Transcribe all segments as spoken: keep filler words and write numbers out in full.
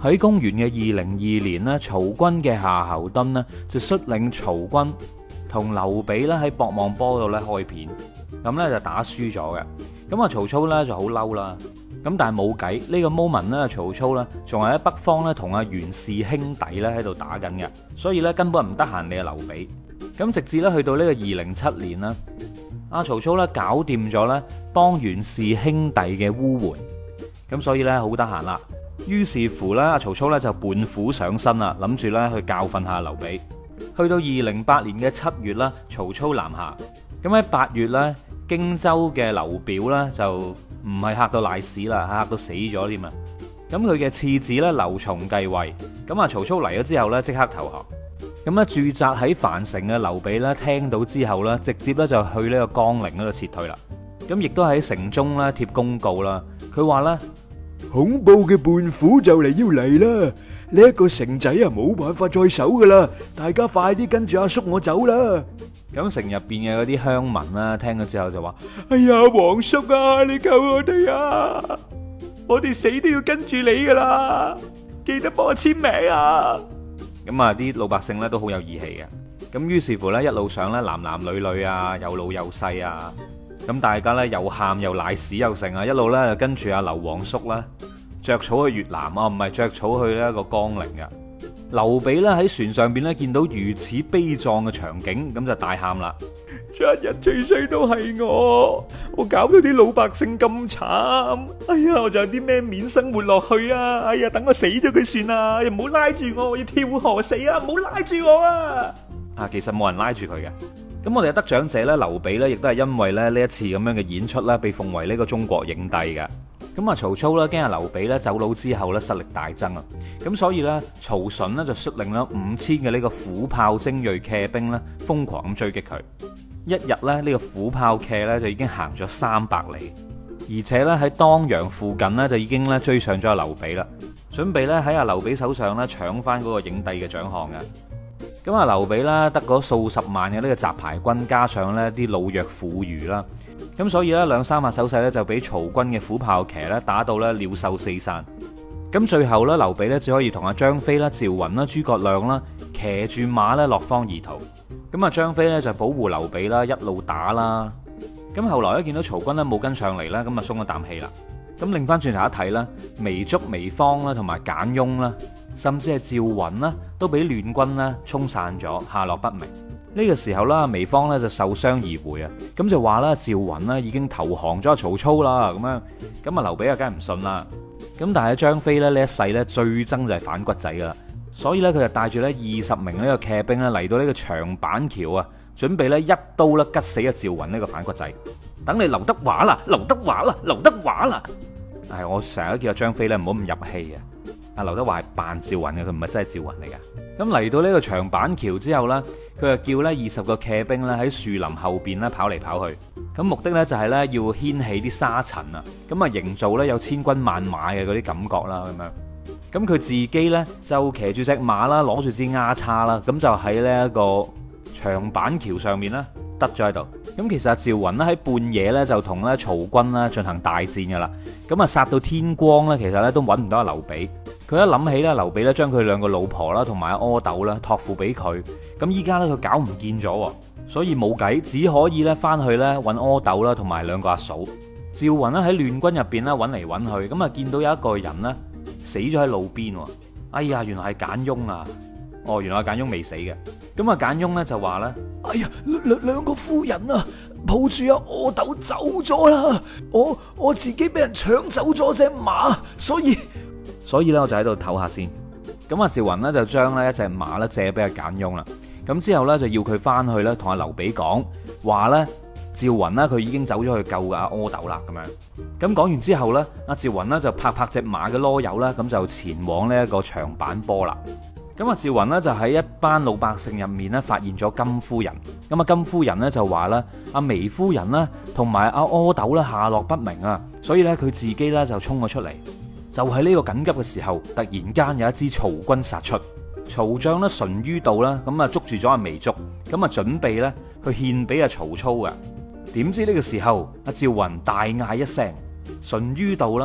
喺公元嘅二零二年咧，曹軍嘅夏侯惇呢就率領曹軍同劉備咧喺博望坡度咧開片，咁咧就打輸咗嘅。咁啊曹操咧就好嬲啦，咁但係冇計，呢個 moment 咧曹操咧仲係喺北方咧同阿袁氏兄弟咧喺度打緊嘅，所以咧根本唔得閒理阿劉備。咁直至咧去到呢個二零七年啦，阿曹操咧搞掂咗咧幫袁氏兄弟嘅烏援，咁所以咧好得閒啦。於是乎咧，阿曹操咧就叛虎上身啦，諗住咧去教訓下劉備。去到二零八年嘅七月啦，曹操南下。咁喺八月咧，荊州嘅劉表咧就唔係嚇到賴屎啦，嚇到死咗添啊！咁佢嘅次子咧劉琮繼位。咁啊曹操嚟咗之後咧，即刻投降。咁咧駐紮喺樊城嘅劉備咧，聽到之後咧，直接咧就去呢個江陵嗰度撤退啦。咁亦都喺城中咧貼公告啦。佢話咧， 恐怖嘅叛虎就嚟要嚟啦！呢一個城仔啊，冇辦法再守噶啦，大家快啲跟住阿叔我走啦！ 咁城入邊嘅嗰啲鄉民啦，聽咗之後就話： 哎呀，皇叔啊，你救我哋啊！我哋死都要跟住你噶啦！記得幫我簽名啊！ 咁啊，啲老百姓咧都好有義氣嘅。咁於是乎咧，一路上咧，男男女女啊，有老有細啊。咁大家咧又喊又賴屎又成啊，一路咧就跟住阿劉皇叔啦，着草去越南啊，唔係着草去呢一個江陵嘅。劉備咧喺船上邊咧見到如此悲壯嘅場景，咁就大喊啦： 今日最衰都係我，我搞到啲老百姓咁慘，哎呀，我就有啲咩面生活落去啊！哎呀，等我死咗佢算啦，又唔好拉住我，我要跳河死啊！唔好拉住我啊！ 啊，其實冇人拉住佢嘅。咁我哋嘅得獎者咧，劉備咧，亦都係因為咧呢一次咁樣嘅演出咧，被奉為呢個中國影帝嘅。咁啊，曹操咧驚阿劉備咧走佬之後咧實力大增啊，咁所以咧曹純呢就率領咗五千嘅呢個虎豹精銳騎兵咧，瘋狂咁追擊佢。一日咧呢個虎豹騎咧就已經行咗三百里，而且咧喺當陽附近呢，就已經咧追上咗阿劉備啦，準備咧喺阿劉備手上咧搶翻嗰個影帝嘅獎項嘅。咁啊，劉備啦，得嗰數十萬嘅呢個雜牌軍，加上呢啲老弱婦孺啦，咁所以呢，兩三下手勢呢，就俾曹軍嘅虎豹騎呢打到呢鳥獸四散。咁最後呢，劉備呢，只可以同阿張飛啦、趙雲啦、諸葛亮啦騎住馬呢落荒而逃。咁啊，張飛呢，就保護劉備啦，一路打啦。咁後來呢，見到曹軍呢冇跟上嚟啦，咁啊鬆咗啖氣啦。咁擰翻轉頭一睇啦，糜竺、糜芳啦，同埋簡雍啦，甚至係趙雲啦，都俾亂軍啦沖散咗，下落不明。呢個時候啦，糜芳咧就受傷而回啊，咁就話啦，趙雲啦已經投降咗曹操啦，咁樣，咁啊劉備啊梗係唔信啦。咁但係張飛咧呢一世咧最憎就係反骨仔噶啦，所以咧佢就帶住咧二十名呢個騎兵咧嚟到呢個長板橋啊，準備咧一刀咧吉死阿趙雲呢個反骨仔。等你劉德華啦，劉德華啦，劉德華啦！係我成日都叫阿張飛咧唔好咁入戲啊！阿劉德華係扮趙雲嘅，佢唔係真係趙雲嚟噶。咁嚟到呢個長板橋之後呢，佢就叫呢二十個騎兵咧喺樹林後邊咧跑嚟跑去。咁目的呢就係呢要掀起啲沙塵啊，咁啊營造呢有千軍萬馬嘅嗰啲感覺啦，咁樣。咁佢自己呢就騎住隻馬啦，攞住支丫叉啦，咁就喺呢一個長板橋上面啦，得咗喺度。咁其實阿趙雲咧喺半夜咧就同咧曹軍咧進行大戰噶啦，咁啊殺到天光咧，其實咧都揾唔到阿劉備。佢一諗起咧劉備咧將佢兩個老婆啦同埋阿阿斗啦託付俾佢，咁依家咧佢搞唔見咗，所以冇計，只可以咧翻去咧揾阿斗啦同埋兩個阿嫂。趙雲咧喺亂軍入邊咧揾嚟揾去，咁啊見到有一個人咧死咗喺路邊，哎呀，原來係簡雍啊！哦，原來簡雍未死嘅。咁啊簡雍咧就話咧， 哎呀，兩兩個夫人啊，抱住阿阿斗走咗啦，我我自己俾人搶走咗隻馬，所以所以咧我就喺度唞下先。咁啊趙雲咧就將呢一隻馬咧借俾阿簡雍啦。咁之後咧就要佢翻去咧同阿劉備講話咧，趙雲咧佢已經走咗去救阿阿斗啦咁樣。咁講完之後咧，阿趙雲咧就拍拍隻馬嘅囉柚啦，咁就前往呢一個長板坡啦。咁啊，趙雲呢就喺一班老百姓入面咧發現咗金夫人。咁啊，金夫人呢就話啦，阿糜夫人啦同埋阿阿斗咧下落不明啊，所以咧佢自己咧就衝咗出嚟。就喺呢個緊急嘅時候，突然間有一支曹軍殺出，曹將咧淳于道啦，咁啊捉住咗阿糜竺，咁啊準備咧去獻俾阿曹操嘅。點知呢個時候，阿趙雲大嗌一聲，淳于道啦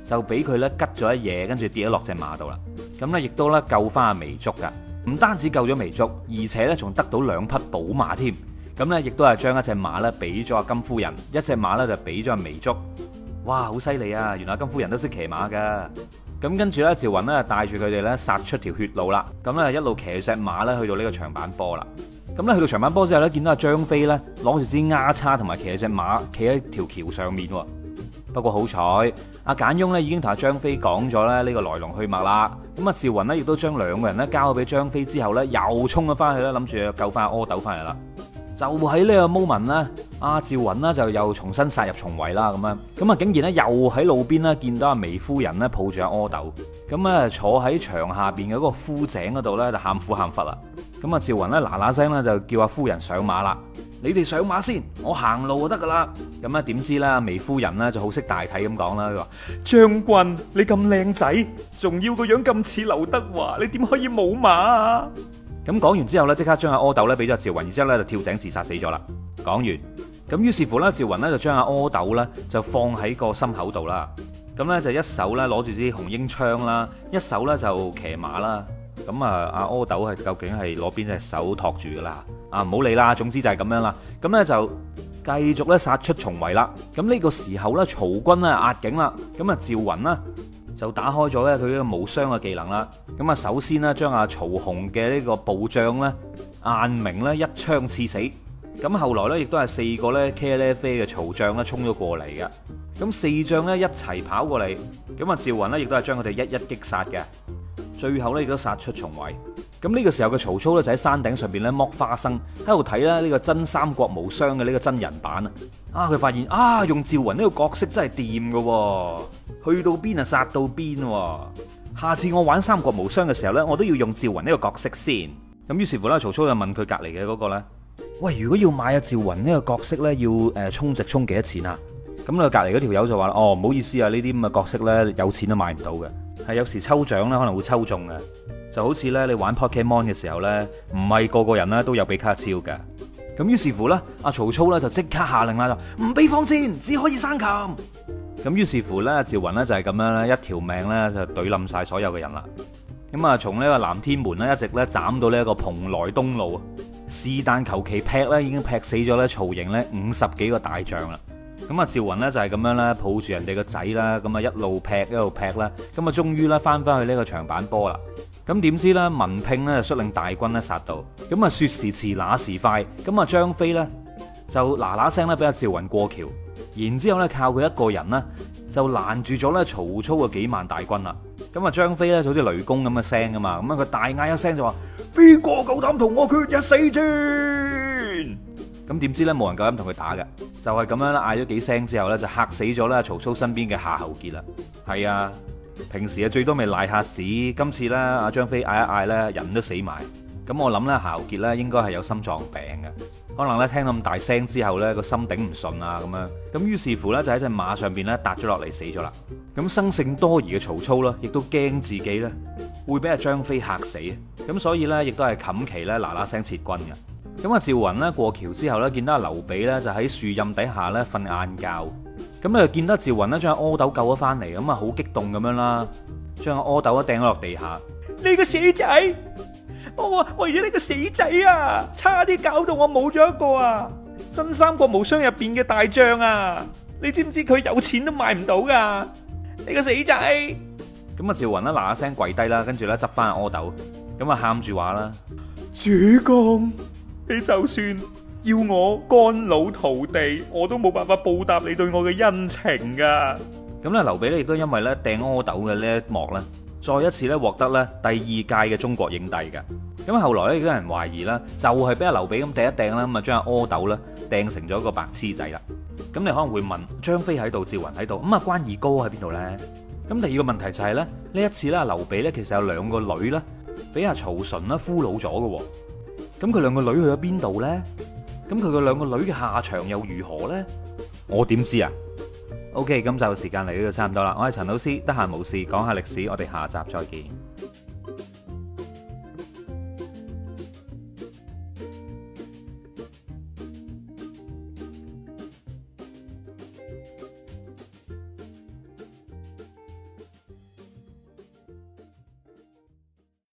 就俾佢咧吉咗一嘢，跟住跌咗落隻馬度啦。咁咧亦都咧救翻阿糜竺噶，唔單止救咗糜竺，而且咧仲得到兩匹寶馬添。咁咧亦都係將一隻馬咧俾咗阿金夫人，一隻馬咧就俾咗阿糜竺。哇，好犀利啊！原來金夫人都識騎馬噶。咁跟住咧，趙雲咧帶住佢哋咧殺出條血路啦。咁咧一路騎住隻馬咧去到呢個長板坡啦。咁咧去到長板坡之後咧，見到阿張飛咧攞住支丫叉同埋騎住隻馬企喺條橋上面。不過好彩，阿簡雍咧已經同阿張飛講咗咧呢個來龍去脈啦。咁啊趙雲咧亦都將兩個人咧交咗俾張飛之後咧，又衝咗翻去咧，諗住救翻阿阿斗翻嚟啦。就喺呢個 moment 咧，阿趙雲呢就又重新殺入重圍啦，咁樣咁啊，竟然咧又喺路邊咧見到阿糜夫人咧抱住阿阿斗，咁啊坐喺牆下邊嘅嗰個枯井嗰度咧就喊苦喊忽啦。咁啊趙雲咧嗱嗱聲咧就叫阿夫人上馬啦，你哋上馬先，我行路就得噶啦。咁啊點知啦，糜夫人咧就好識大體咁講啦，佢話將軍你咁靚仔，仲要個樣咁似劉德華，你點可以冇馬啊？ 咁講完之後咧，即刻將阿阿斗咧俾咗趙雲，然之後咧就跳井自殺死咗啦。講完，咁於是乎咧，趙雲咧就將阿阿斗咧就放喺個心口度啦。咁咧就一手咧攞住支紅纓槍啦，一手咧就騎馬啦。咁啊，阿阿斗係究竟係攞邊隻手托住噶啦？啊，唔好理啦，總之就係咁樣啦。咁咧就繼續咧殺出重圍啦。咁呢個時候咧，曹軍咧壓境啦。咁啊，趙雲啦就打開咗咧佢呢個無雙嘅技能啦。咁啊，首先呢，將阿曹洪嘅呢個部將咧晏明咧一槍刺死。咁後來咧亦都係四個咧茄喱啡嘅曹將咧衝咗過嚟嘅。咁四將咧一齊跑過嚟，咁啊趙雲咧亦都係將佢哋一一擊殺嘅。最後咧亦都殺出重圍。咁呢個時候嘅曹操咧就喺山頂上邊咧剝花生，喺度睇咧呢個真三國無雙嘅呢個真人版啊！啊，佢發現啊，用趙雲呢個角色真係掂㗎，去到邊啊殺到邊。下次我玩三國無雙嘅時候咧，我都要用趙雲呢個角色先。咁於是乎咧，曹操就問佢隔籬嘅嗰個咧，喂，如果要買阿趙雲呢個角色咧，要誒充值充幾多錢啊？咁咧隔籬嗰條友就話：哦，唔好意思啊，呢啲咁嘅角色咧，有錢都買唔到嘅，係有時抽獎咧可能會抽中嘅。就好似咧，你玩 Pokemon 嘅時候咧，唔係個個人咧都有比卡超嘅。咁於是乎咧，阿曹操咧就即刻下令啦，就唔俾放箭，只可以生擒。咁於是乎咧，趙雲咧就係咁樣咧，一條命咧就懟冧晒所有嘅人啦。咁啊，從呢個南天門咧一直咧斬到呢一個蓬萊東路，是但求其劈咧，已經劈死咗咧曹營咧五十幾個大將啦。咁啊，趙雲咧就係咁樣咧，抱住人哋個仔啦，咁啊一路劈一路劈啦，咁啊終於咧翻翻去呢個長板坡啦。咁點知咧，文聘咧就率領大軍咧殺到，咁啊說時遲那時快，咁啊張飛咧就嗱嗱聲咧俾阿趙雲過橋，然之後咧靠佢一個人呢，就攔住咗咧曹操嘅幾萬大軍啦。咁啊張飛咧就好似雷公咁嘅聲噶嘛，咁啊佢大嗌一聲就話：邊個夠膽同我決一死戰？咁點知咧冇人夠膽同佢打嘅，就係咁樣啦，嗌咗幾聲之後咧就嚇死咗咧曹操身邊嘅夏侯傑啦。係啊。平時啊最多咪賴下屎，今次咧阿張飛嗌一嗌咧人都死埋，咁我諗咧夏侯傑咧應該係有心臟病嘅，可能咧聽咁大聲之後咧個心頂唔順啊咁樣，咁於是乎咧就喺隻馬上邊咧搭咗落嚟死咗啦。咁生性多疑嘅曹操啦，亦都驚自己咧會俾阿張飛嚇死，咁所以咧亦都係冚旗咧嗱嗱聲撤軍嘅。咁啊趙雲咧過橋之後咧見到阿劉備咧就喺樹蔭底下咧瞓晏覺。咁咧就見得趙雲咧將阿阿斗救咗翻嚟，咁啊好激動咁樣啦，將阿阿斗啊掟咗落地下。 你個死仔，我為咗呢個死仔啊，差啲搞到我冇咗一個啊！真三國無雙入邊嘅大將啊，你知唔知佢有錢都買唔到噶？你個死仔！ 咁啊趙雲咧嗱嗱聲跪低啦，跟住咧執翻阿阿斗，咁啊喊住話啦： 主公，你就算要我肝腦塗地，我都冇辦法報答你對我嘅恩情噶。 咁咧，劉備咧亦都因為咧掟阿斗嘅呢一幕咧，再一次咧獲得咧第二屆嘅中國影帝嘅。咁後來咧亦都有人懷疑啦，就係俾阿劉備咁掟一掟啦，咁啊將阿阿斗咧掟成咗一個白痴仔啦。咁你可能會問：張飛喺度，趙雲喺度，咁啊關二哥喺邊度咧？咁第二個問題就係咧，呢一次咧，劉備咧其實有兩個女咧，俾阿曹純啦俘虜咗嘅。咁佢兩個女去咗邊度咧？咁佢個兩個女嘅下場又如何呢？我點知啊 ？OK，咁就時間嚟到差唔多啦。我係陳老師，得閒無事講下歷史，我哋下集再見。